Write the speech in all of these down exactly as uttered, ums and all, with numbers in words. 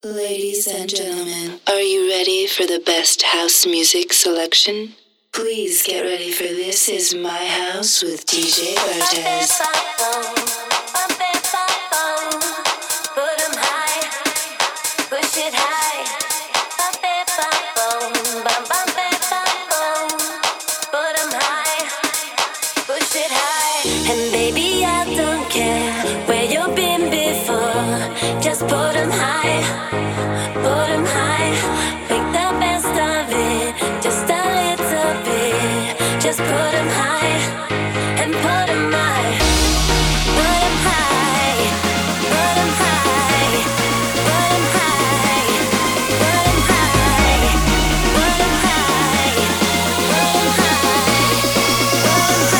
Ladies and gentlemen, are you ready for the best house music selection? Please get ready for This Is My House with D J Bartez. And baby, I don't care where you've been before. Just put 'em high, put 'em high. Make the best of it, just a little bit. Just put 'em high and put 'em high. Put 'em high, put 'em high, put 'em high, put 'em high, put 'em high, put 'em high, put 'em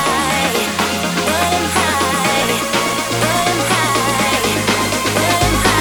high, put 'em high.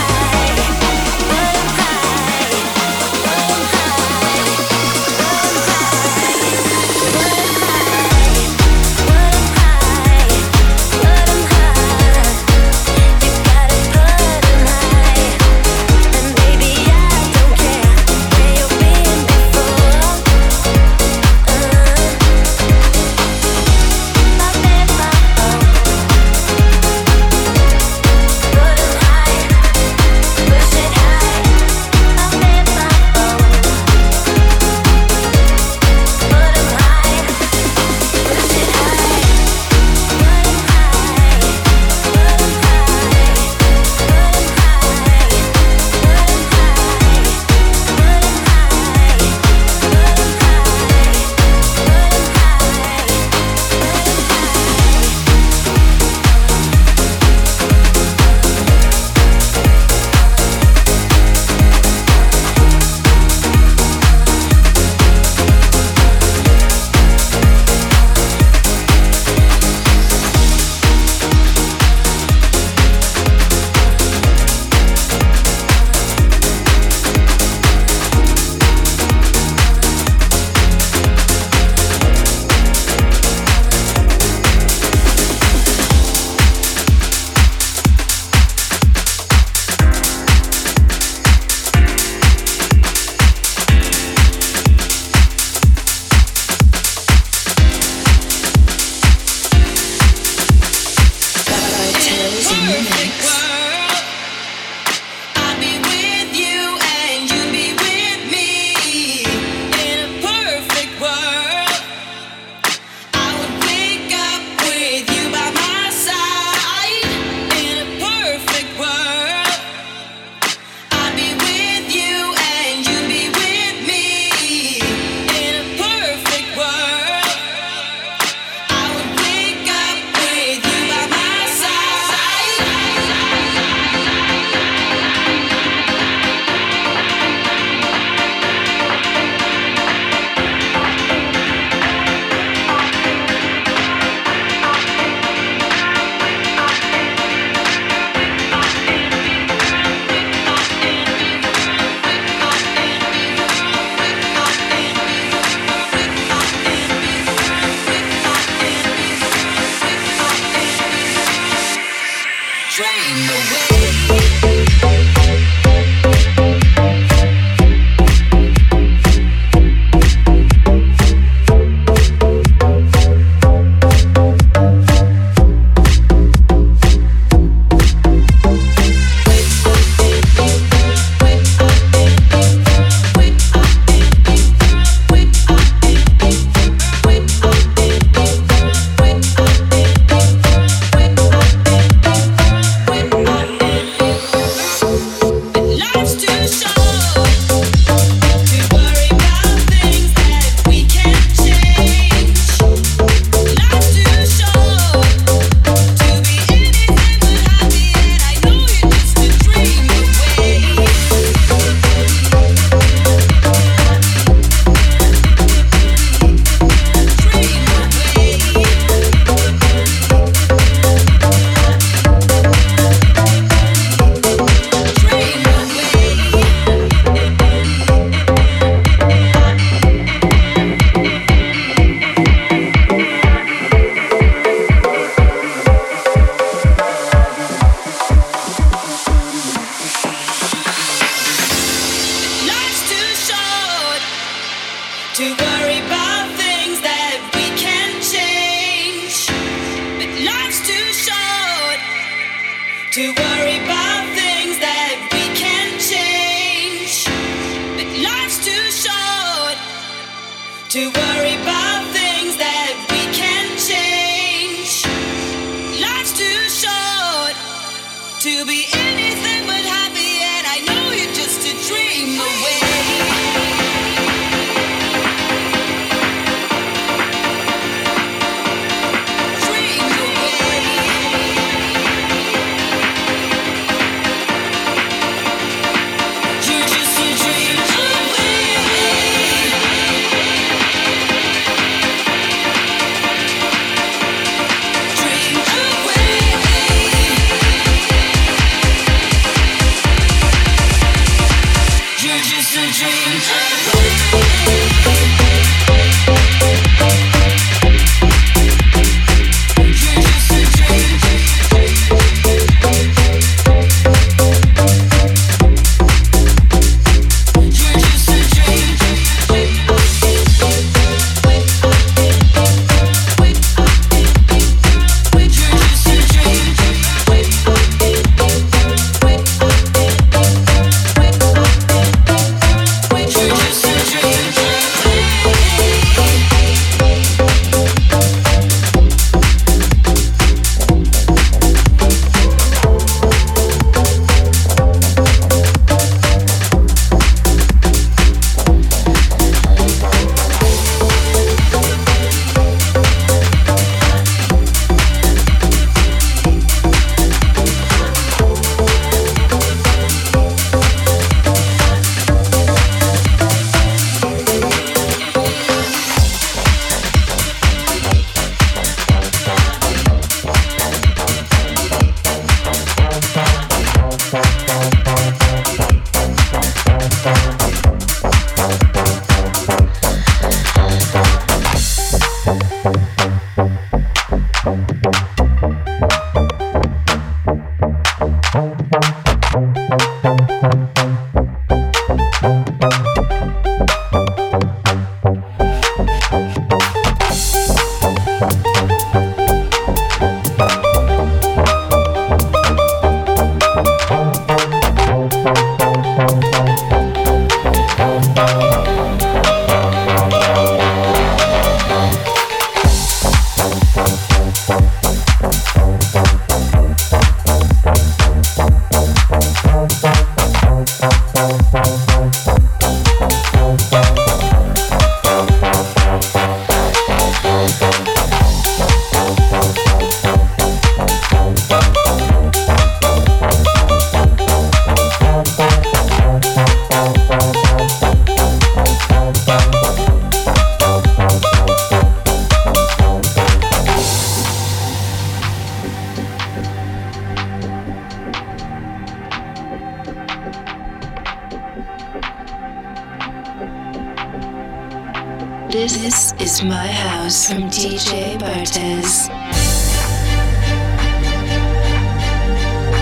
This is My House from D J Bartez.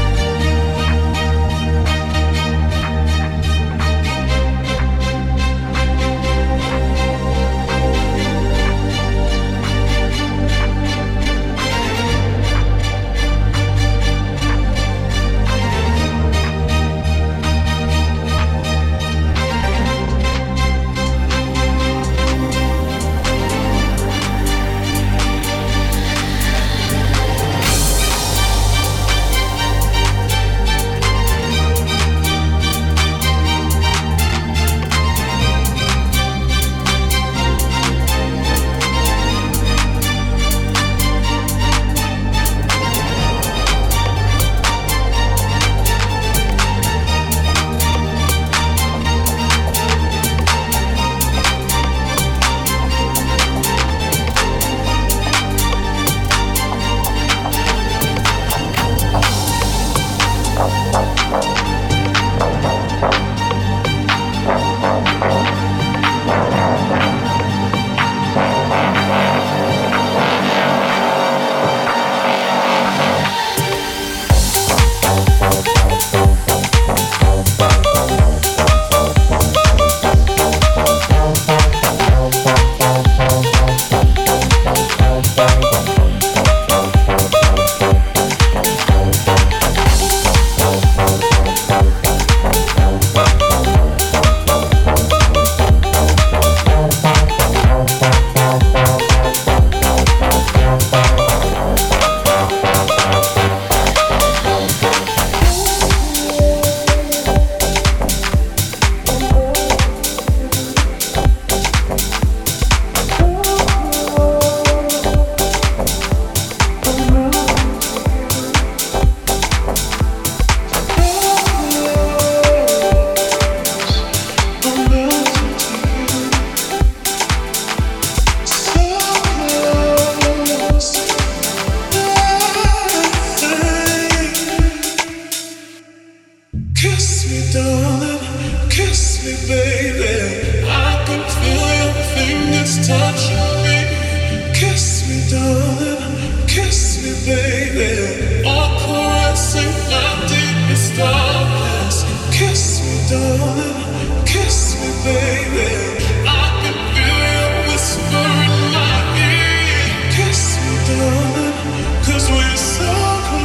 baby. All caressing my deepest darkness. Kiss me, darling. Kiss me, baby. I can feel you whisper in my ear. Kiss me, darling. 'Cause we're so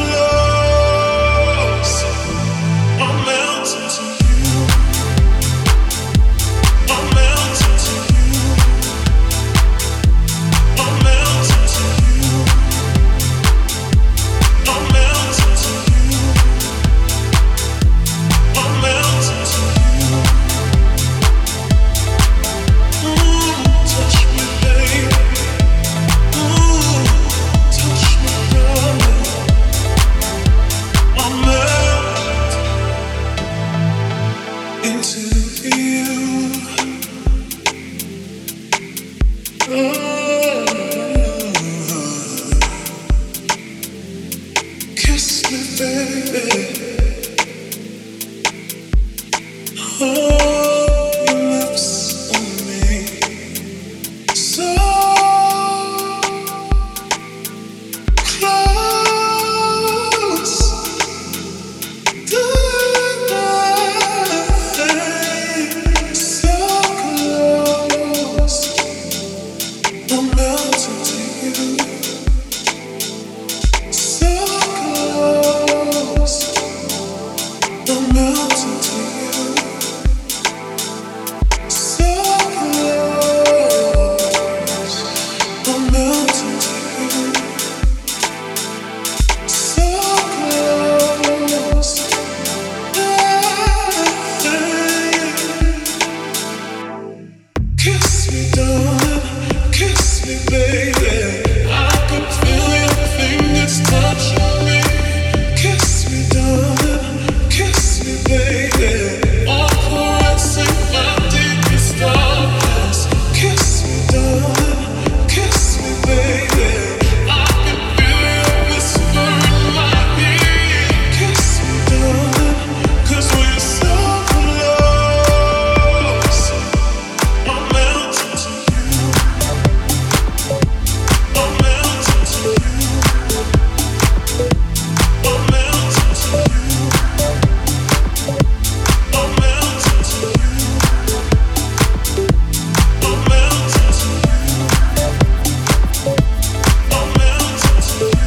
close. I'm melting to you. I'm melting to you. I'm melting to you. I'm melting to you. I'm melting to you. Ooh, touch me, baby. Ooh, touch me, darling. I'm melting into you. Oh, kiss me, baby. Hold your lips on me, so close. Tonight, so close. I'm melting to you, so close. I'm melting to you, so close. I'm melting to you, so close. Kiss me, darling. Kiss me, baby. I can feel your fingers touching me. Kiss me, darling. Kiss me, baby. All caressing my deepest darkness. Kiss me, darling. Kiss me, baby. I can feel you whisper in my ear. Kiss me, darling. 'Cause we're so close. I'm melting to you. I'm melting to you. I'm melting to you. I'm melting to you. I'm melting to you. I'm melting to you.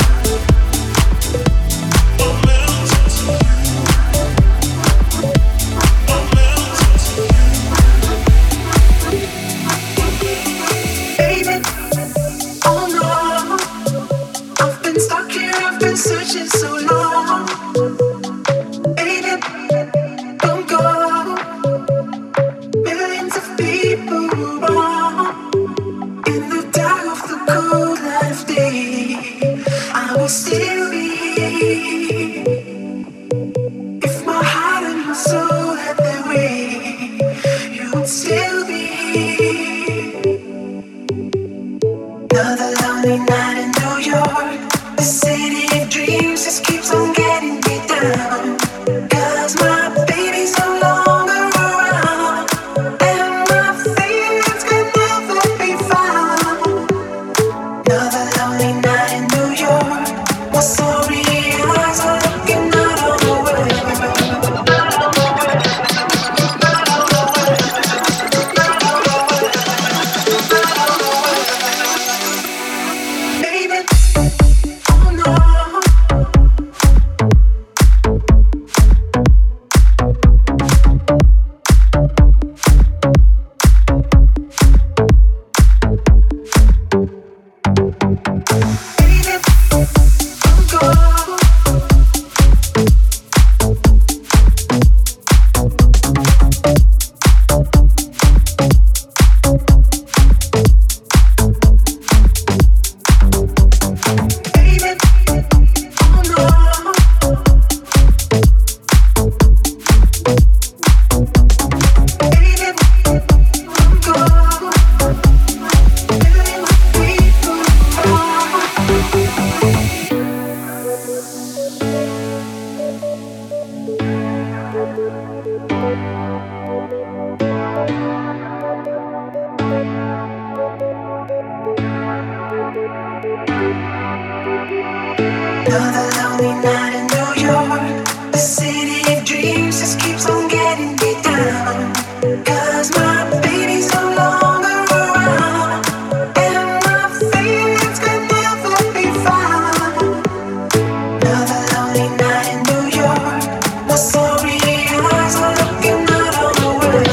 I'm melting to you. I'm melting to you. Baby, oh no, I've been stuck here, I've been searching so long. Baby, don't go. Millions of people wrong. In the dark of the cold light of day, I will still be. If my heart and my soul had their way, you would still be. Another lonely night in New York. The city of dreams just keeps on getting me down. 'Cause my baby's no longer around, and my feelings can never be found. Another lonely night in New York. My sorry eyes are looking out on the world. Baby, oh no. Baby, don't go. Baby, oh no. Baby, don't go. Millions of people wrong. Thank you. Another lonely night in New York. The city of dreams just keeps on getting me down. 'Cause my baby's no longer around, and my feelings can never be found. Another lonely night in New York. My sorry eyes are looking out on the world.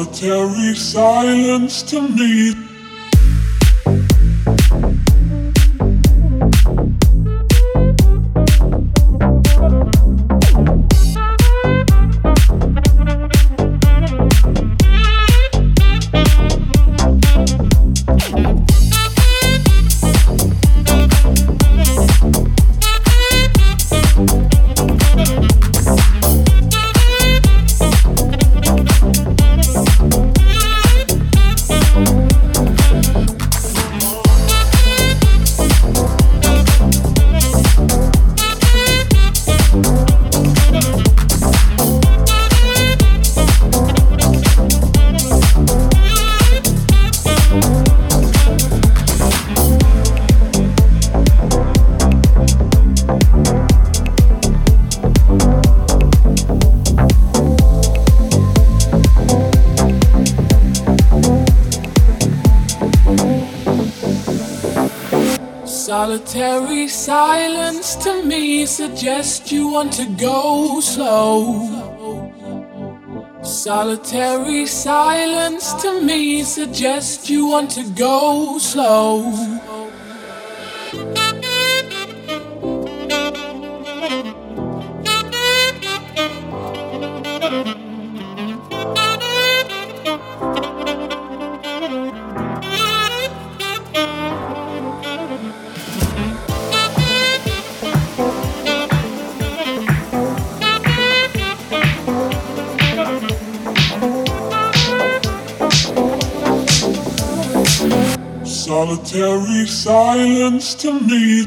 Solitary silence to me. Solitary silence to me suggests you want to go slow. Solitary silence to me suggests you want to go slow. Solitary silence to me.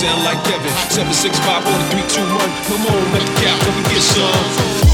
sound like Kevin. seven six five four three two one. Come on, let the cap, come and get some.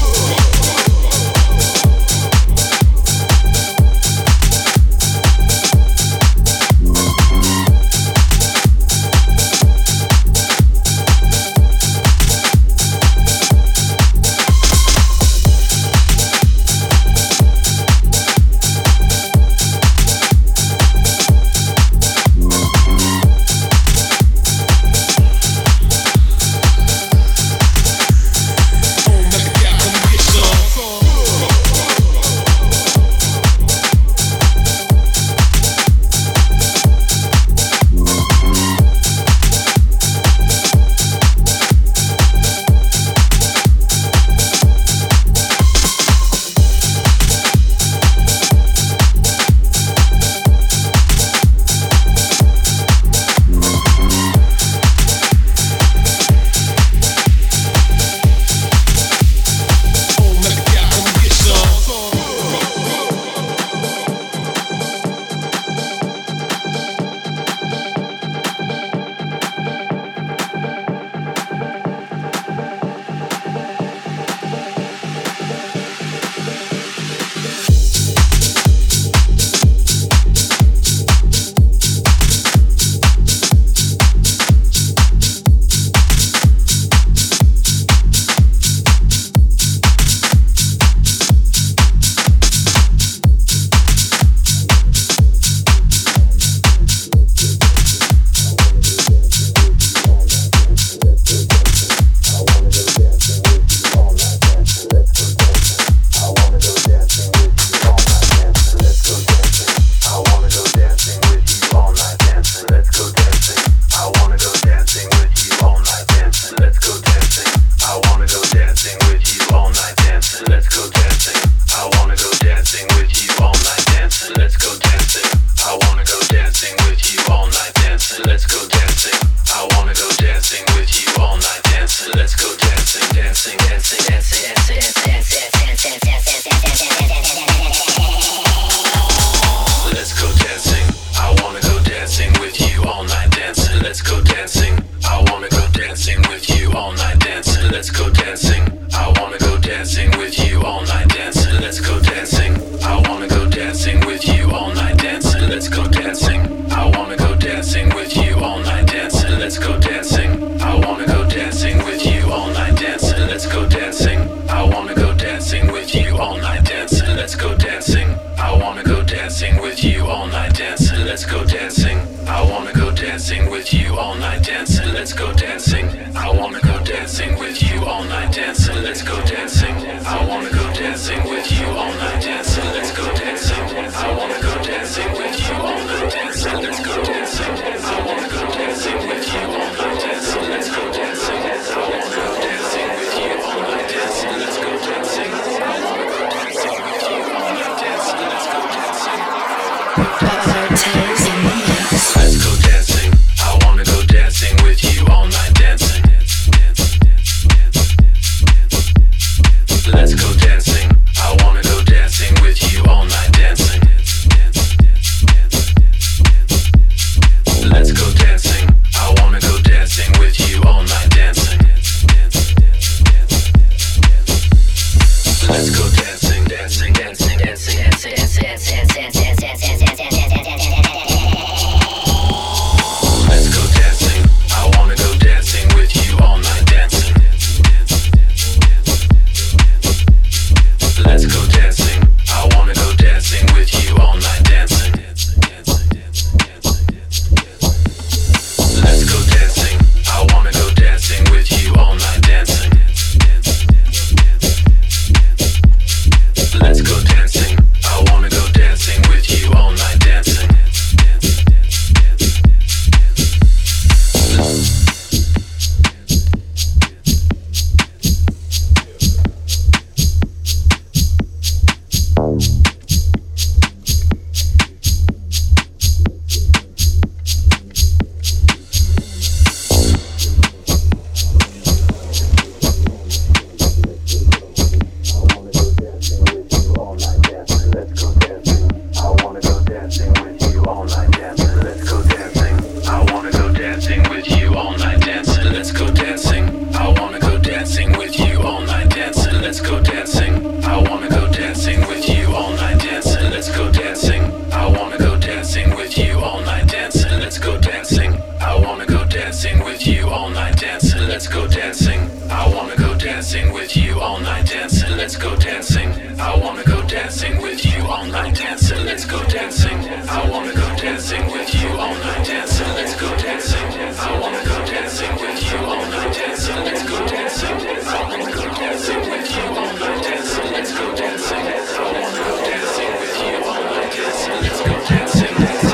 dancing with you all night, dancing. Let's go dancing. I wanna go dancing with you all night, dancing. Let's go dancing. I wanna go dancing with you all night, dancing. Let's go dancing. I wanna go dancing with you all night, dancing. Let's go dancing. I wanna go dancing with you all night, dancing. Let's go dancing. I wanna go dancing with you all night, dancing. Let's go dancing.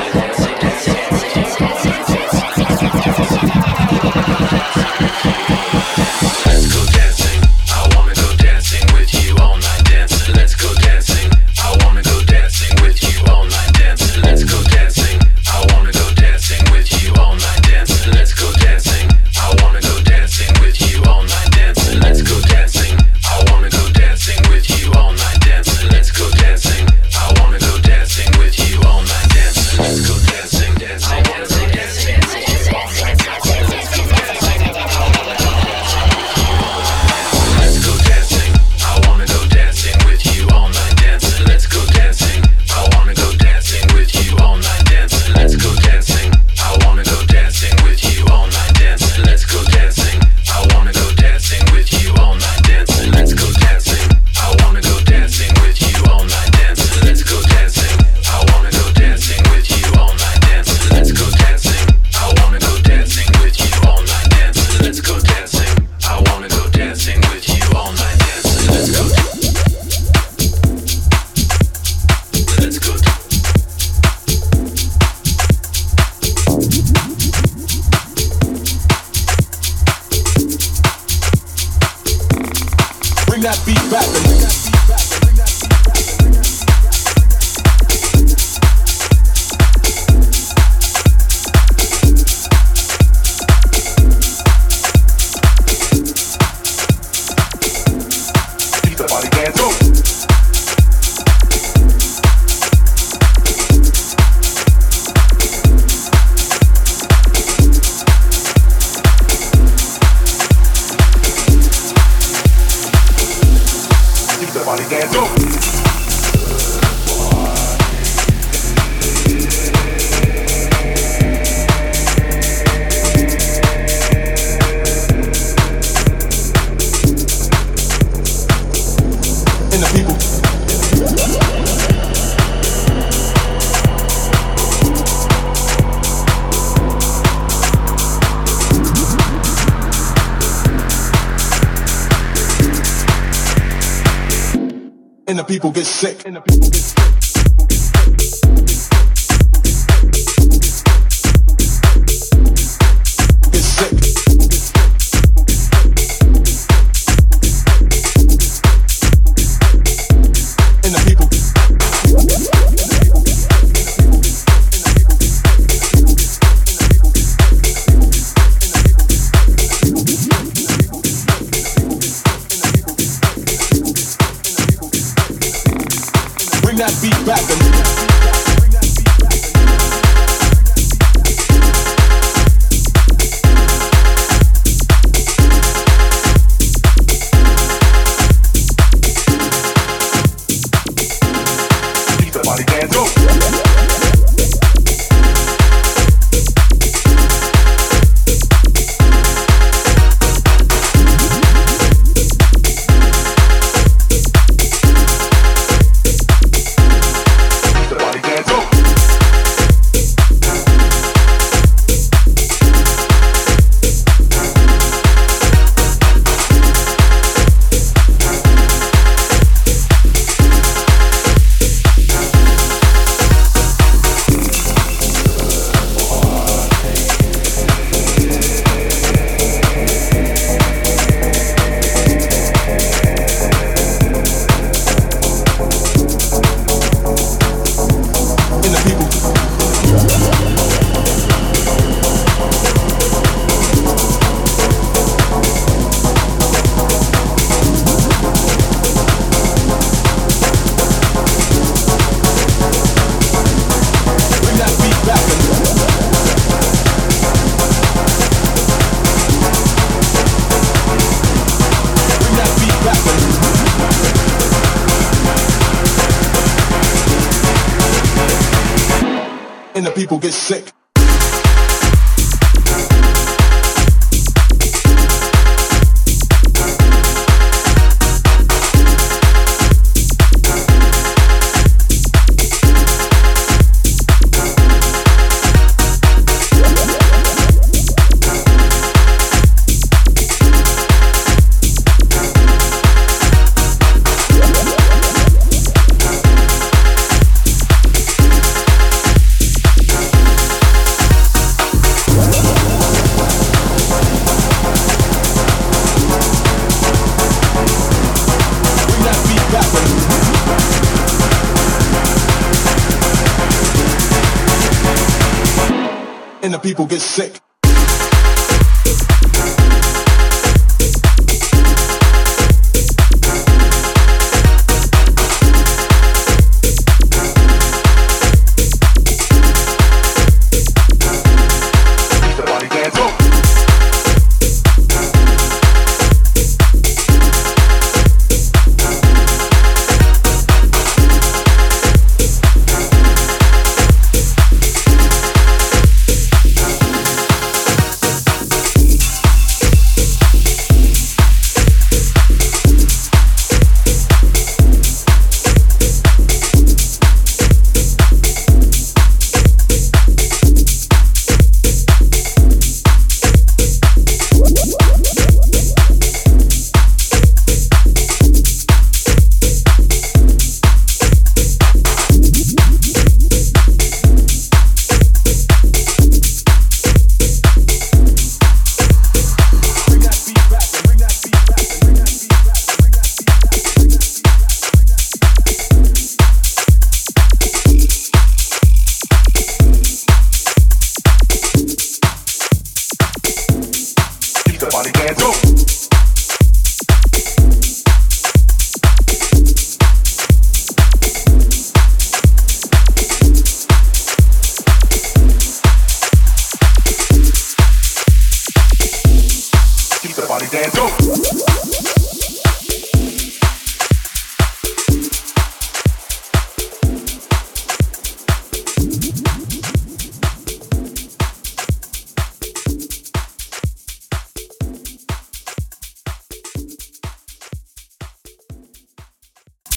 And the people get sick. And the people get sick. Get sick. And the people. Bring that beat back and keep the body dance go. And the people get sick. and the people get sick.